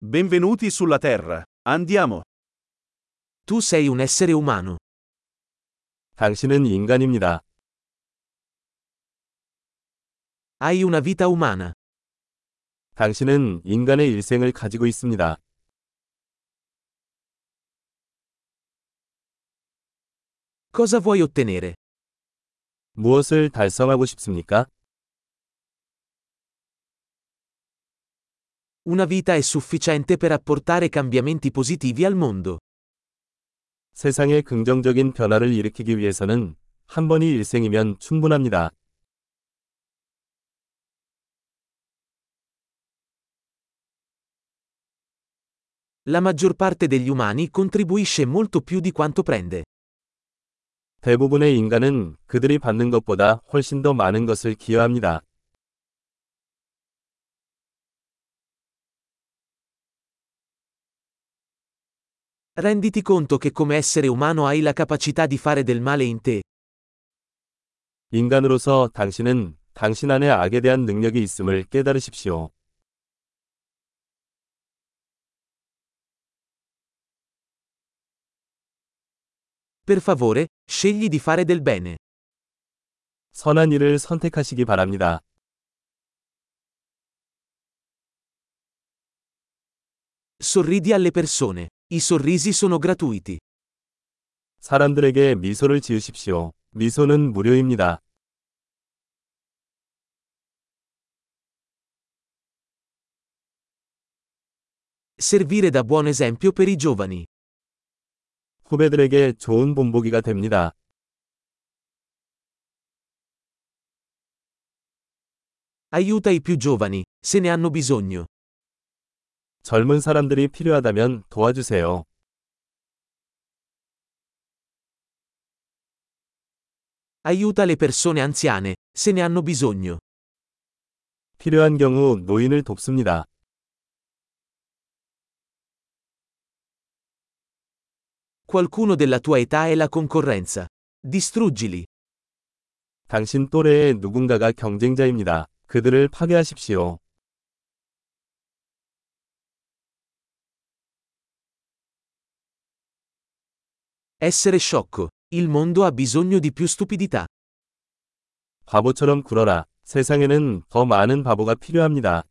Benvenuti sulla Terra. Andiamo. Tu sei un essere umano. 당신은 인간입니다. Hai una vita umana. 당신은 인간의 일생을 가지고 있습니다. Cosa vuoi ottenere? 무엇을 달성하고 싶습니까? Una vita è sufficiente per apportare cambiamenti positivi al mondo. 세상에 긍정적인 변화를 일으키기 위해서는 한 번이 일생이면 충분합니다. La maggior parte degli umani contribuisce molto più di quanto prende. 대부분의 인간은 그들이 받는 것보다 훨씬 더 많은 것을 기여합니다. Renditi conto che come essere umano hai la capacità di fare del male in te. 인간으로서 당신은 당신 안에 악에 대한 능력이 있음을 깨달으십시오. Per favore, scegli di fare del bene. 선한 일을 선택하시기 바랍니다. Sorridi alle persone. I sorrisi sono gratuiti. 사람들에게 미소를 지으십시오. 미소는 무료입니다. Servire da buon esempio per i giovani. 후배들에게 좋은 본보기가 됩니다. Aiuta i più giovani, se ne hanno bisogno. 젊은 사람들이 필요하다면 도와주세요. Aiuta le persone anziane, se ne hanno bisogno. 필요한 경우 노인을 돕습니다. Qualcuno della tua età è la concorrenza. Distruggili. 당신 또래의 누군가가 경쟁자입니다. 그들을 파괴하십시오. Essere sciocco. Il mondo ha bisogno di più stupidità. 바보처럼 굴어라. 세상에는 더 많은 바보가 필요합니다.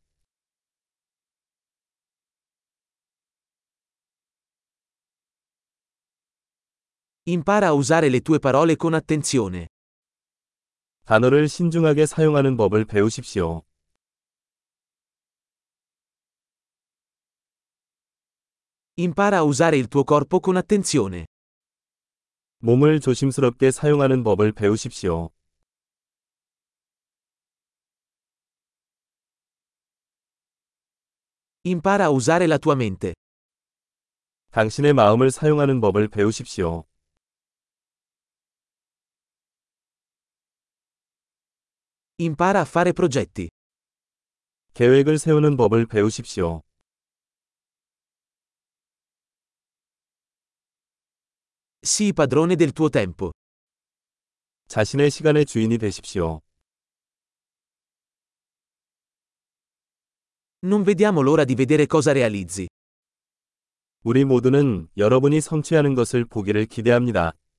Impara a usare le tue parole con attenzione. 단어를 신중하게 사용하는 법을 배우십시오. Impara a usare il tuo corpo con attenzione. 몸을 조심스럽게 사용하는 법을 배우십시오. Impara a usare la tua mente. 당신의 마음을 사용하는 법을 배우십시오. Impara a fare progetti. 계획을 세우는 법을 배우십시오. Sii padrone del tuo tempo. 자신의 시간의 주인이 되십시오. Non vediamo l'ora di vedere cosa realizzi. 우리 모두는 여러분이 성취하는 것을 보기를 기대합니다.